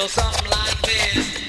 something like this.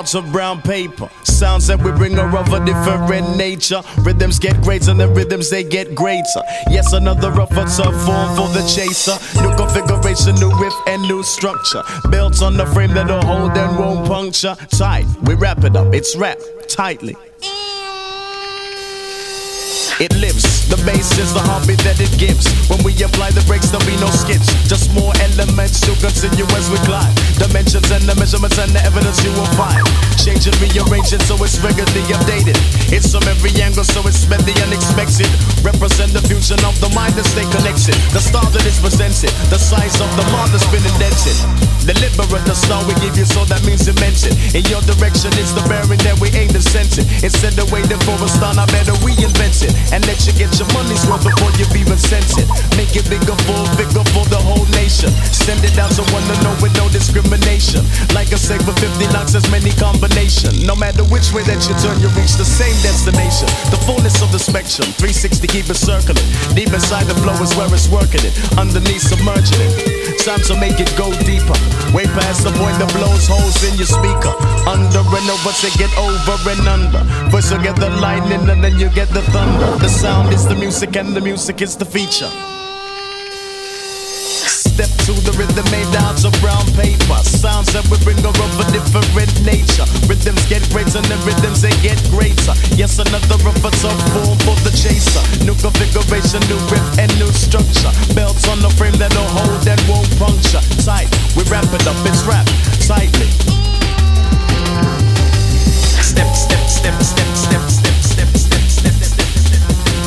out of brown paper. Sounds that we bring are of a different nature. Rhythms get greater and the rhythms they get greater. Yes, another rougher tough form for the chaser. New configuration, new riff and new structure. Built on the frame that'll hold and won't puncture. Tight, we wrap it up, it's wrapped tightly. It lives, the bass is the heartbeat that it gives. When we apply the brakes, there'll be no skips. Just more elements to continue as we glide. Dimensions and the measurements and the evidence you will find. Change and rearrange it so it's regularly updated. It's from every angle so it's meant the unexpected. Represent the fusion of the mind and stay connected. The star that is presented, the size of the mark that's been indented. Deliberate the star we give you so that means immense it. In your direction it's the bearing that we aim to sense it. Instead of waiting for a star, now better reinvent it. And let you get your money's worth before you've even sent it. Make it bigger for the whole nation. Send it out to one to know with no discrimination. Like I say, for 50 knocks there's many combinations. No matter which way that you turn, you reach the same destination. The fullness of the spectrum, 360 keep it circling. Deep inside the flow is where it's working it. Underneath submerging it. Time to make it go deeper. Way past the point that blows holes in your speaker. Under and over to get over and under. First you get the lightning and then you get the thunder. The sound is the music and the music is the feature. Step to the rhythm made out of brown paper. Sounds that we bring are of a different nature. Rhythms get greater and the rhythms they get greater. Yes, another of a tough form for the chaser. New configuration, new riff and new structure. Belts on the frame that'll hold and won't puncture. Tight, we wrap it up, it's wrapped tightly. Step, step, step, step, step, step, step, step, step, step, step.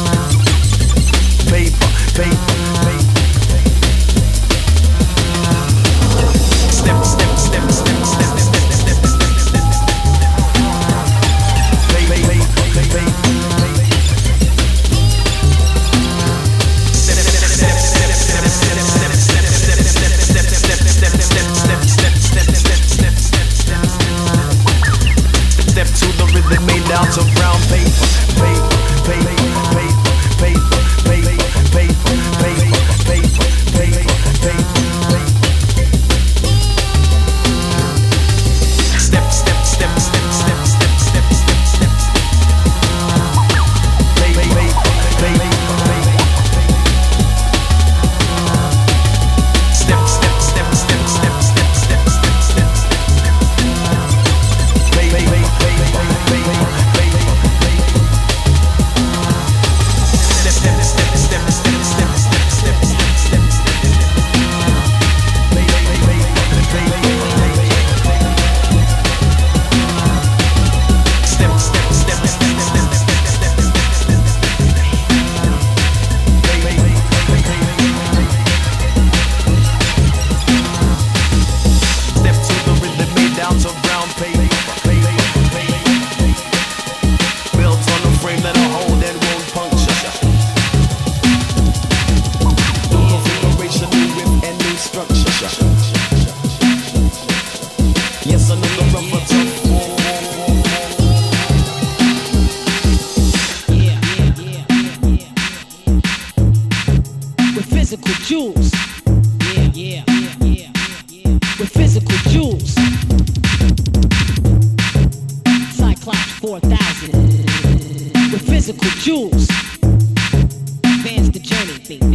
Paper, paper, paper. Step, step, step, step, step, step, step, step, step. Step to the rhythm made out of brown paper. Paper, paper, paper, paper, paper, paper, paper, paper, paper, paper. Step, step, step, step, step, step, step, step, step. Paper, paper, paper, paper. Step, step, step, step, step, step, step, step, step. Paper, paper, paper, paper, paper. Step, step, step, step, step, step, step, step, step, step. Paper, paper, paper, paper, paper. Step, step, step, step, step, step, step, step, step. Step to the rhythm made out of brown paper. Built on a frame that'll hold and won't puncture. New configuration, new whip and new structure. Yes, another rubber tough form. Physical jewels. With physical jewels. Cyclops 4000. With physical jewels. Advance the journey.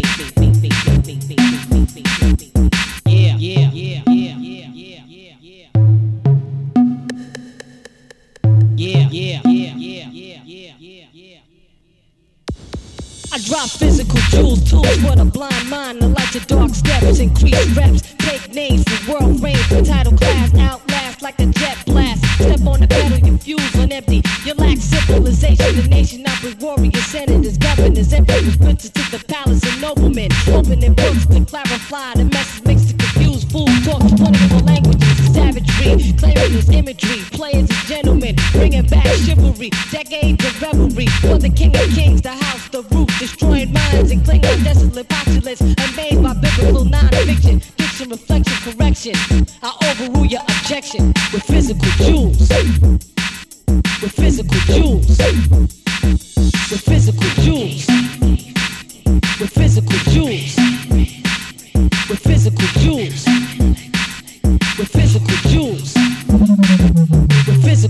I drop physical jewels, tools for the blind mind. The light to dark steps, increase reps. Take names for world reign, for title class. Outlast like a jet blast. Step on the pedal, you fuse on empty. You lack civilization. The nation of the warriors, senators, governors, emperors, princes to the palace and noblemen. Opening books to clarify the message makes the confused fool talk 24 languages. Savagery, clearing his imagery. Players as gentlemen, bringing back chivalry. Decades of revelry for the king of kings, the house, the roof. Destroying minds and clinging desolate postulates unmade by biblical non-fiction. Diction, reflection, correction. I overrule your objection with physical jewels. With physical jewels. With physical jewels. With physical jewels. With physical jewels. With physical jewels. With physical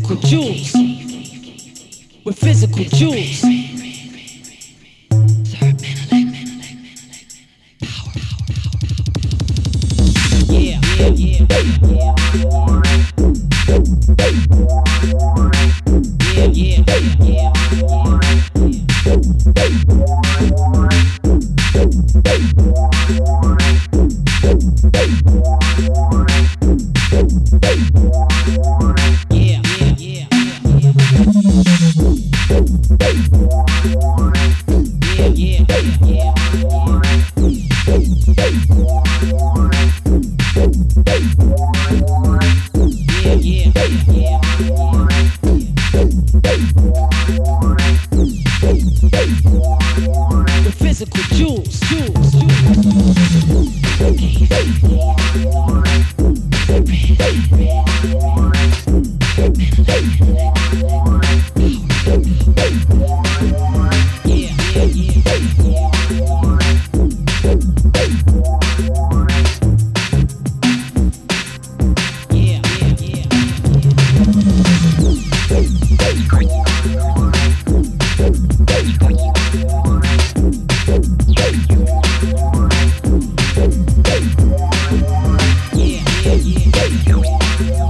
jewels. With physical jewels. Yeah, yeah, yeah, yeah. Yeah, yeah, yeah. Physical jewels, jewels, yeah.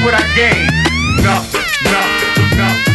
what I gained. Nothing, nothing, nothing.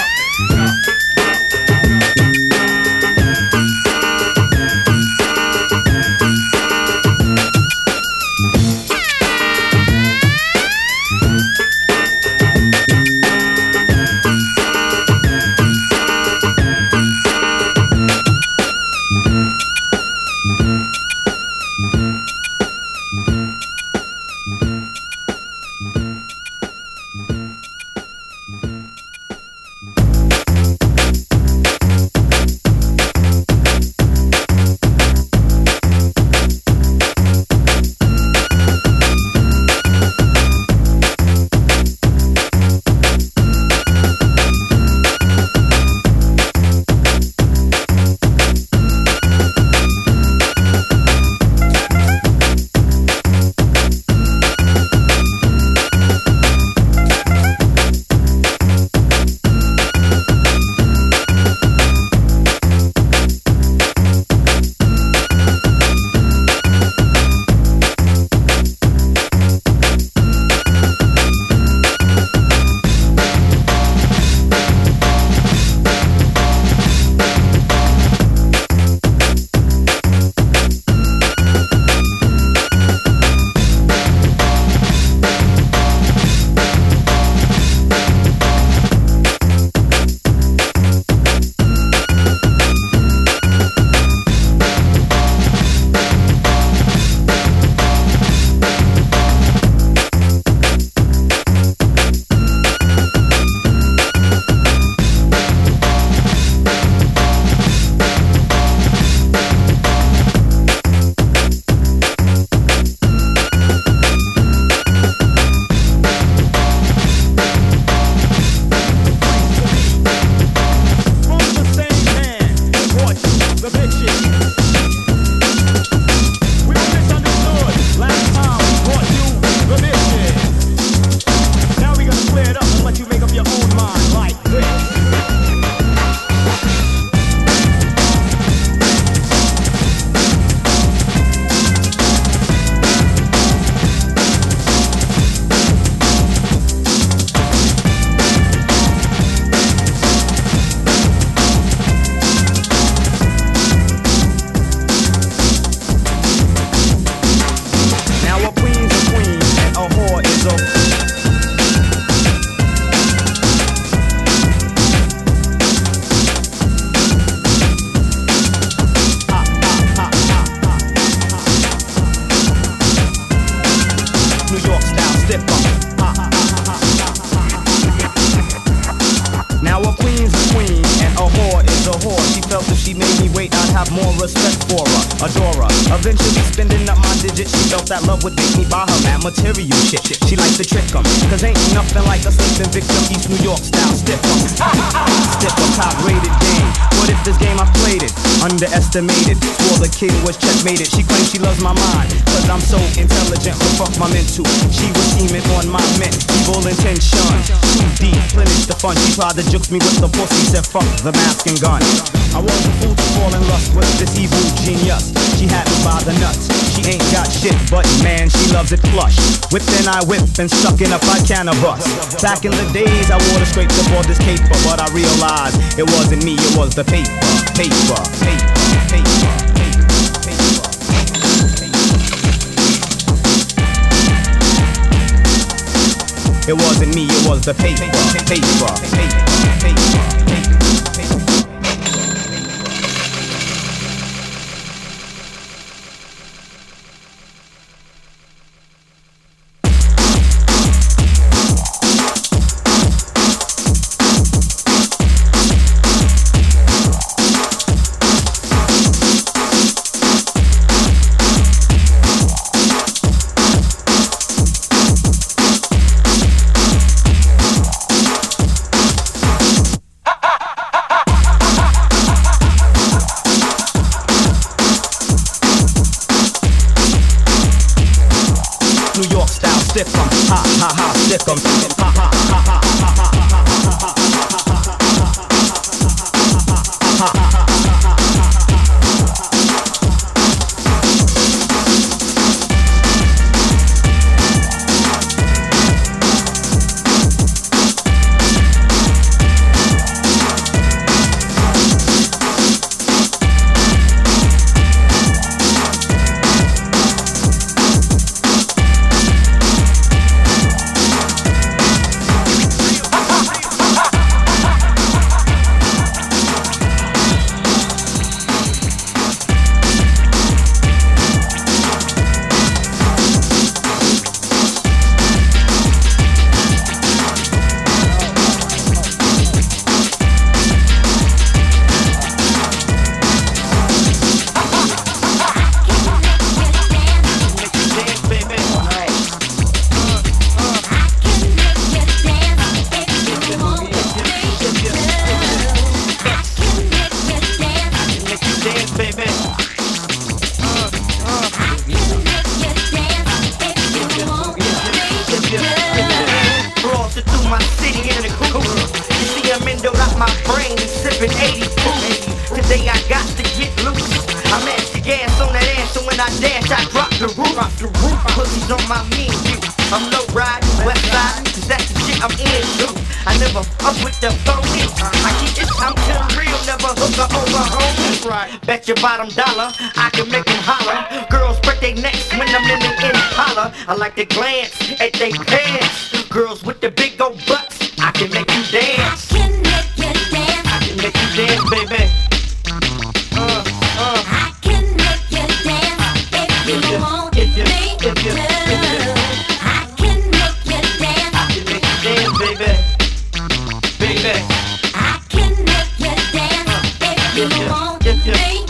That love would make me buy her that material shit. She likes to trick 'em, cause ain't nothing like a sleeping victim. East New York style stiff 'em. Stiff a top rated game. What if this game I played it? Underestimated. Swore the kid was checkmated. She claims she loves my mind, cause I'm so intelligent. But fuck my mental. She was scheming on my men. Evil intentions. Too deep, finish the fun. She tried to juke me with the pussy. Said fuck the mask and gun. I was a fool to fall in lust with this evil genius. She had me by the nuts. She ain't got shit, but man, she loves it flush. Whip then I whip and stuck in a fight cannabis. Back in the days, I wore the scrape to board this caper, but I realized it wasn't me, it was the paper, paper, paper, paper. It wasn't me, it was the paper, paper, paper, paper. Stick 'em, ha ha ha, stick 'em, ha ha ha ha ha ha. my city in the coupe. You see I'm endowed out my brain and sipping 80 proof. Today I got to get loose. I mash the gas on that ass, so when I dash, I drop the roof. Pussies on my mean view. I'm low riding, west side, cause that's the shit I'm into. I never fuck with the phony. I keep this time to the real, never hook her over home. That's right. Bet your bottom dollar, I can make them holler. Girls break their necks when I'm in the Impala. I like to glance at they pants. Girls with the big old butts, I can make you dance. I can make you dance. I can make you dance, baby. I can make you dance if you want me to. I can make you dance. I can make you dance, baby. Baby. I can make you dance if you want me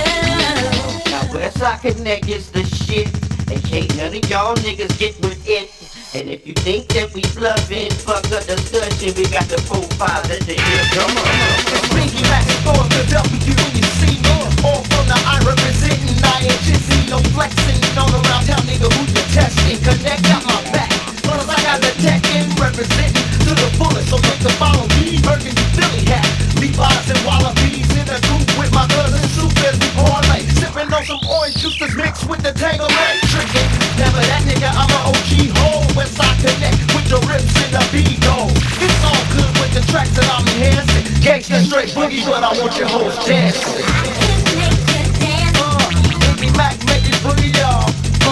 to. Now Westside Connect is the shit, and can't none of y'all niggas get with it. And if you think that we bluffing, fuck a discussion, we got the 4-5 at the ear. Come on. It's Pinky Max for the W, you see me. All from the I representing IHC, no flexing on around town, nigga, who you testing? Connect out my back. Plus I got the tech in representing to the fullest, so make the follow me. Burgundy Philly hat, Levi's and Wallabies in the group with my cousin Soup as we parlay. Sipping on some orange juice that's mixed with the Tango Ray. Trickin', never that nigga, I'm an OG hole. Westside Connect with the rips and the B-go. It's all good with the tracks that I'm enhancing. Gangsta straight boogie, but I want your hoes dancing. I can make you dance. Pinky Mac, make it boogie, y'all.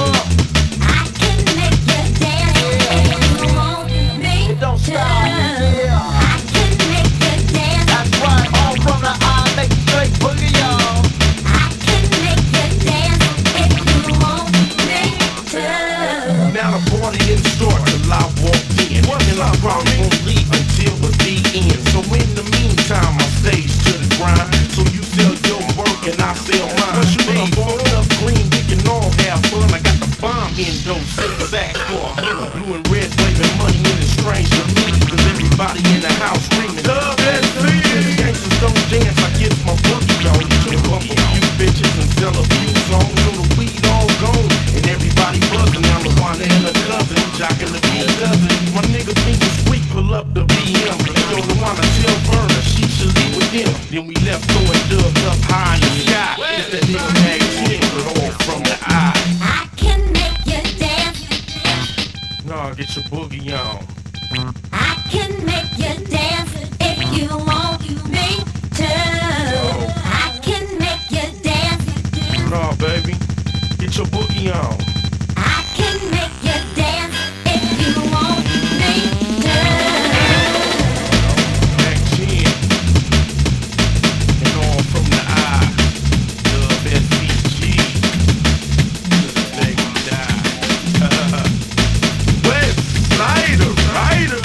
I can make you dance if you want me It don't to. stop, yeah. I can make you dance. That's right, all from the eye, make it straight boogie, y'all. I can make you dance if you want me to. Now the party didn't start till I walked in, and I probably won't leave until the end. So in the meantime, I stage to the grind. So you sell your work and I sell mine. But you ain't phone up green, we can all have fun. I got the bomb in those six sacks for blue and red, waving money in the strange to me. Cause everybody in the house screaming, love that thing. Gangsters don't dance, I get my boogie on. You can bump a few bitches and sell a few songs. So the weed all gone, and everybody buzzing. I'm the one and a cousin, jocking the beat cousin. My nigga think it's sweet, pull up the BM. Yo, the one I tell Burner, she should leave with him. Then we left throwing dubs up high in the sky. It's that nigga Mag 10, but all from the eye. I can make you dance. Nah, get your boogie on. I can make you dance if you want me to. I can make you dance. Nah, baby, get your boogie on. I can make you dance if you want me to. Mag 10, and all from the eye. Dub SCG, to the day we die. West Sider, Rider.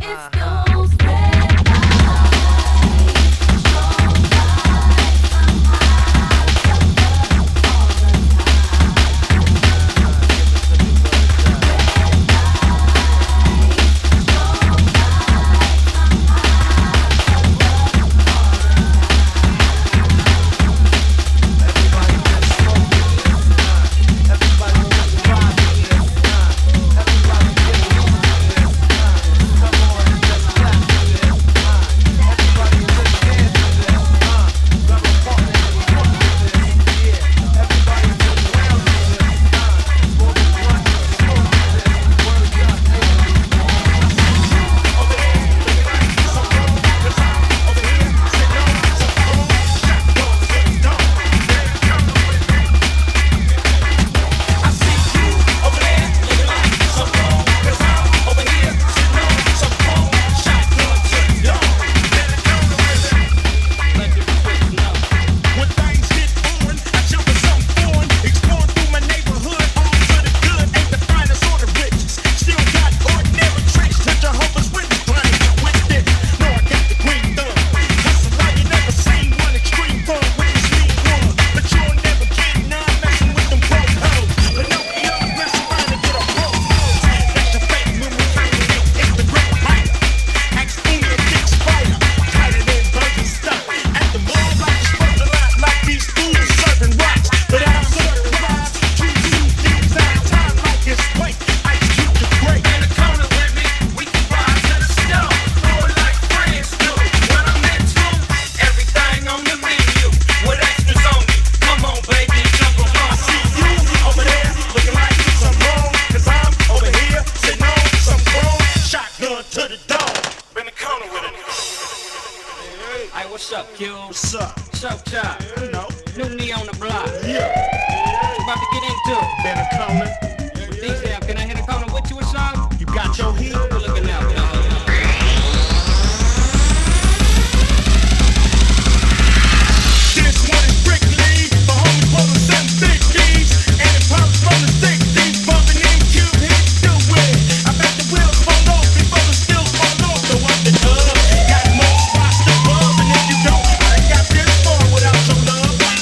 Got more spots to bub, and if you don't, I ain't got this far without your love.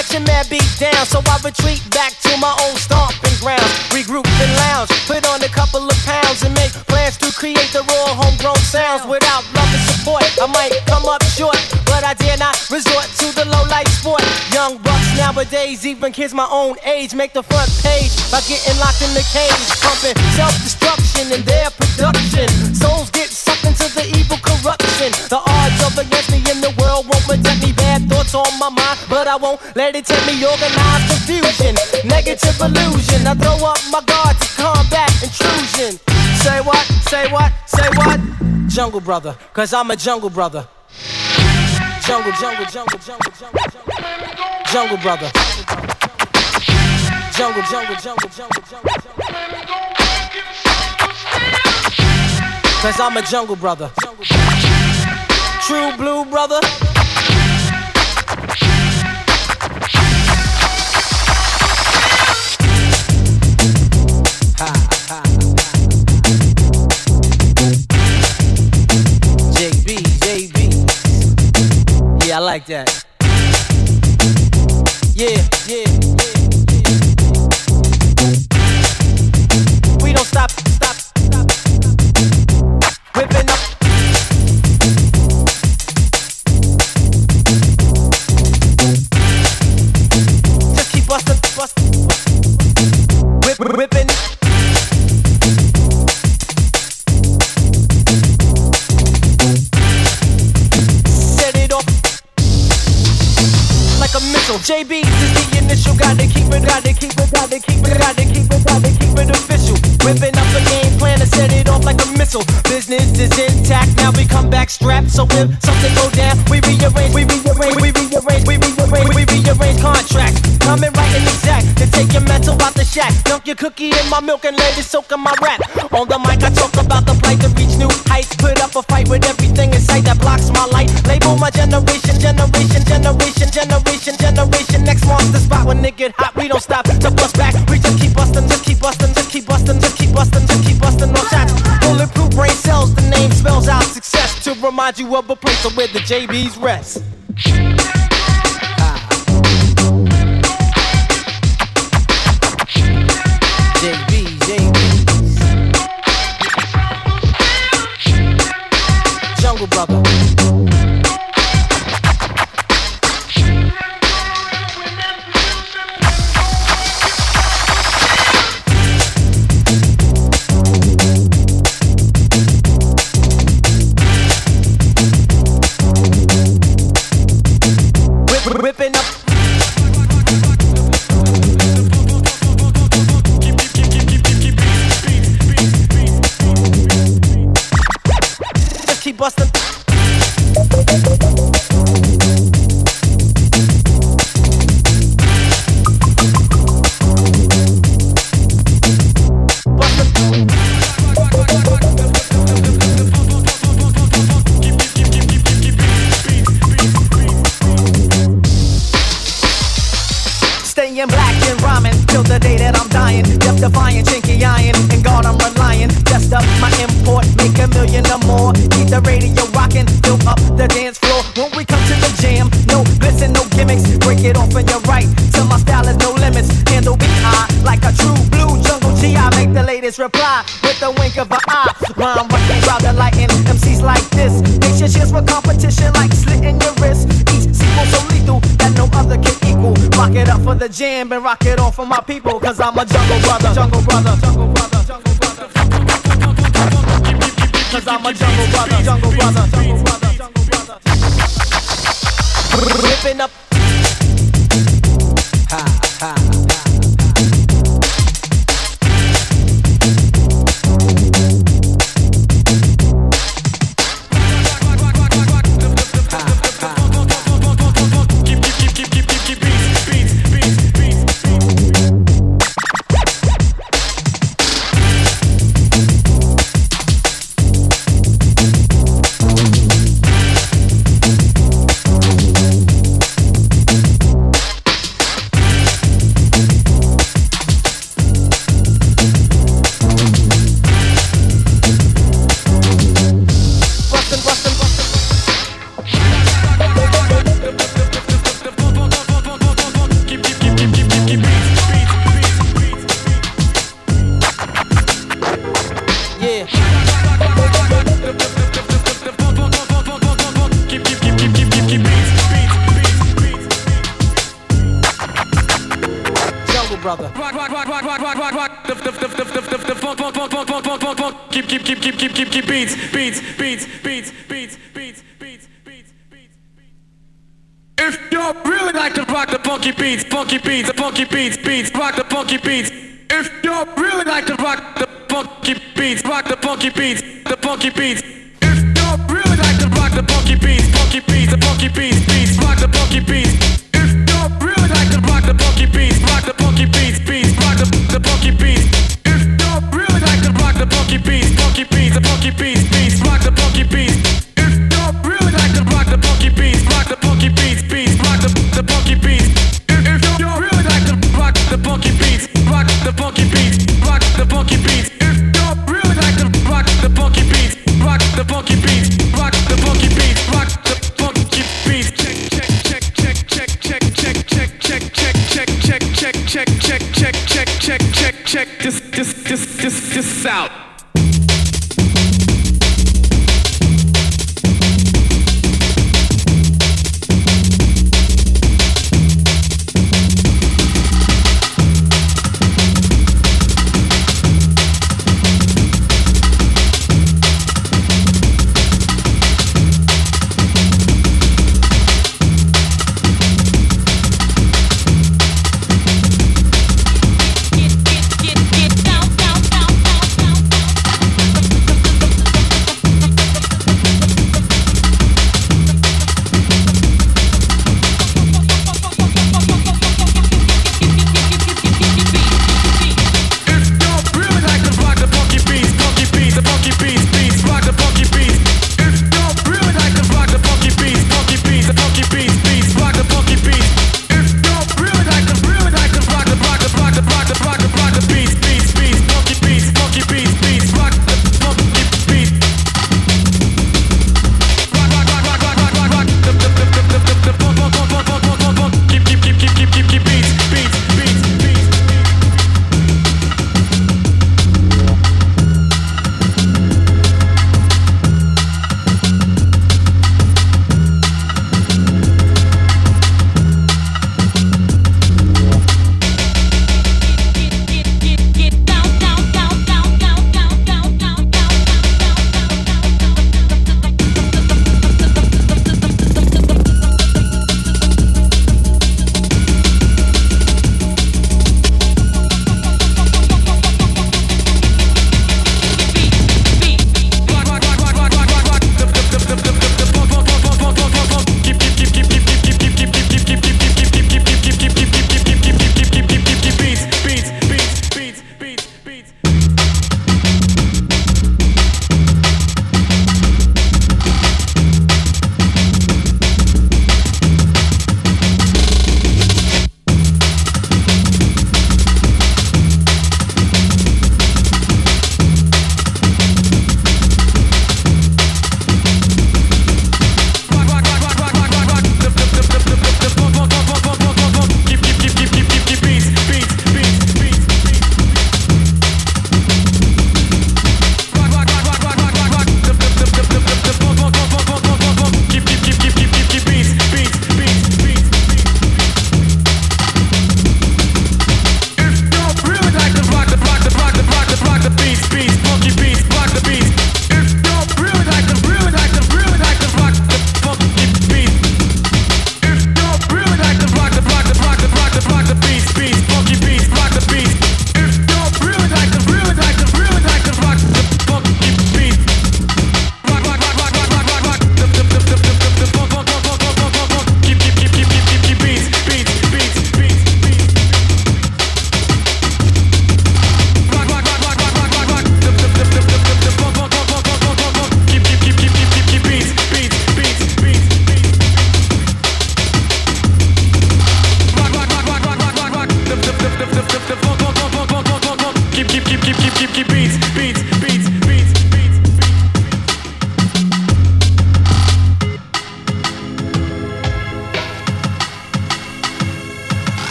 Section man beat down, so I retreat back to my own stomping grounds. Regroup and lounge, put on a couple of pounds and make plans to create the raw homegrown sounds. Without love and support, I might come up short, but I dare not resort to the low life sport. Young bucks nowadays, even kids my own age, make the front page by getting locked in the cage, pumping self-destruction in their production. Souls get sucked into the evil corruption. The odds of against me in the world won't protect me. Bad thoughts on my mind, but I won't let it take me. Organized confusion, negative illusion. I throw up my guard to combat intrusion. Say what? Say what? Say what? Jungle brother, cause I'm a jungle brother. Jungle, jungle, jungle, jungle, jungle, jungle. Jungle brother. Jungle, jungle, jungle, jungle, jungle, jungle. Cause I'm a jungle brother. True blue brother. JB. Yeah, I like that. Yeah. We don't stop. Whipping up. Just keep bustin'. Whipping. Like a missile. JB is the initial. Gotta keep it official. Whipping up a game plan to set it off like a missile. Business is intact. Now we come back strapped. So if something go down, we rearrange contracts. Coming right and exact to take your mental out the shack. Dunk your cookie in my milk and let it soak in my rap. On the mic I talk about the plight to reach new heights. Put up a fight with everything in sight that blocks my light. Label my generation. Next monster spot when it get hot, we don't stop to bust back. We just keep bustin', no shots. Bulletproof brain cells, the name spells out success. To remind you of a place where the JB's rest. Jungle brother. Whipping up. Just keep bustin'. Staying black and rhyming till the day that I'm dying. Death defying, chinky iron, and God I'm relying. Just up my import, make $1 million or more. Keep the radio rocking, fill up the dance floor. When we come to the jam, no glitz and no gimmicks. Break it off and you're right, till my style is no limits. Handle B.I. like a true blue jungle G.I. Make the latest reply with the wink of an eye. Rhyme right round the lighting, MCs like this. Make your cheers for competition like slitting your wrist. Each sequel so lethal that no other can equal. Rock it up for the jam and rock it off for my people. Cause I'm a jungle brother. Cause I'm a jungle brother. Ripping up. Brother. Keep beats. If you really like to rock the funky beats, rock the funky beats. If you really like to rock the funky beats, rock the funky beats. If you really like to rock the funky beats, rock the funky beats. If you really like to rock the funky beats, rock the funky beats. Rock the funky beats. If you really like to rock the funky beats, the funky beats. Rock the funky beats. If you really like to rock the funky beats, rock the funky beats. Rock the funky beats. If you really like to rock the funky beats, rock the funky beats. Rock the funky beats. If you really like to rock the funky beats, rock the funky beats. Rock the funky beats. Rock the funky beats. Check this out.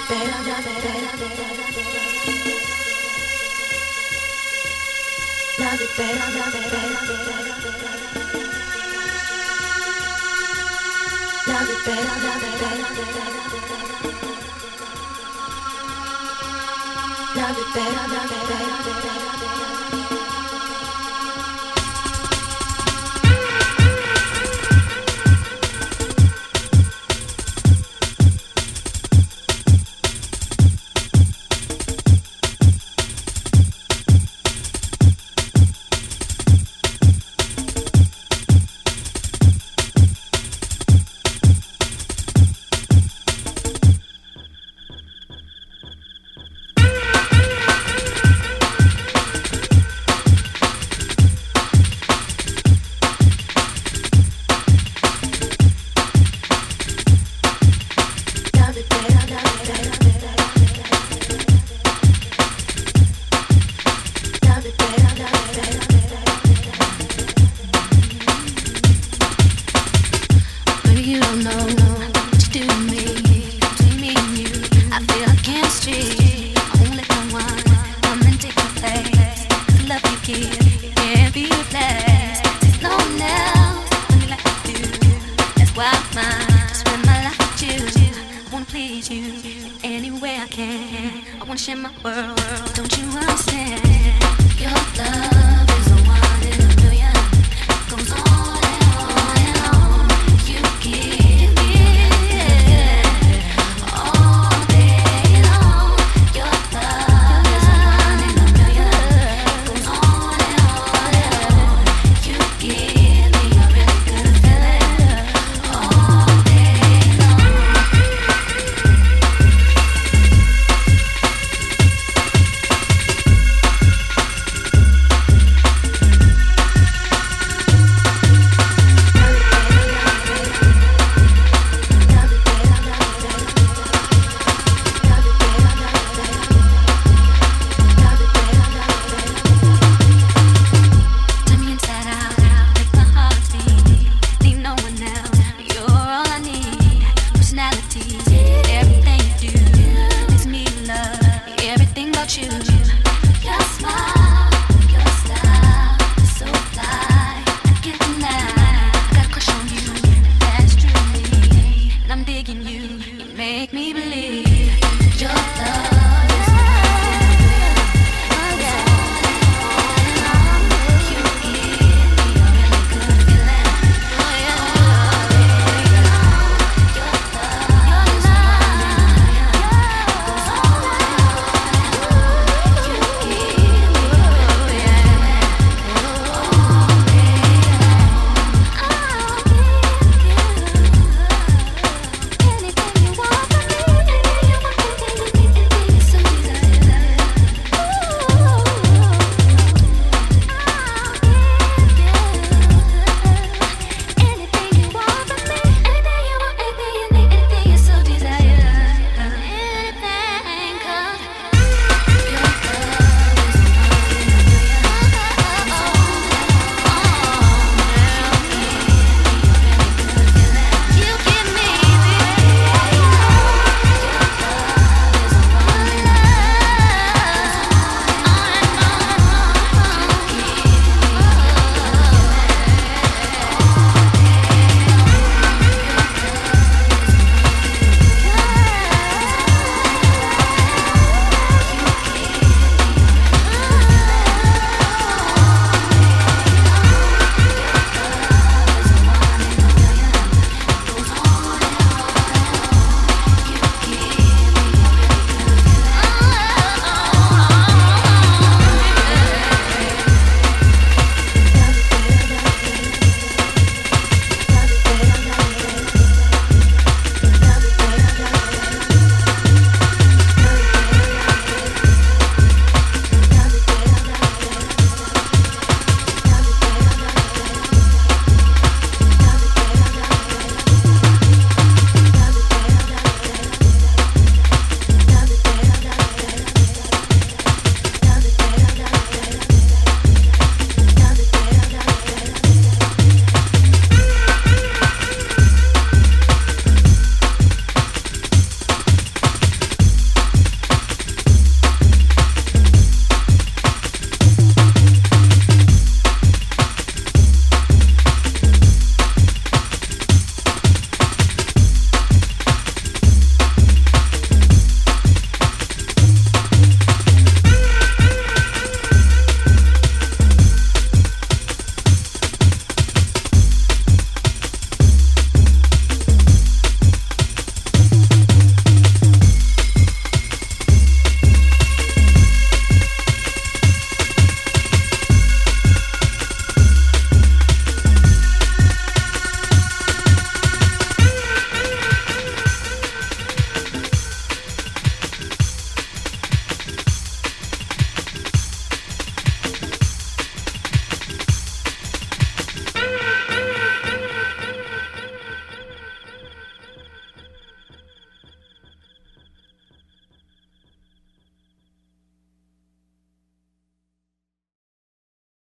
Please you any way I can. I wanna share my world. Don't you understand? Your love.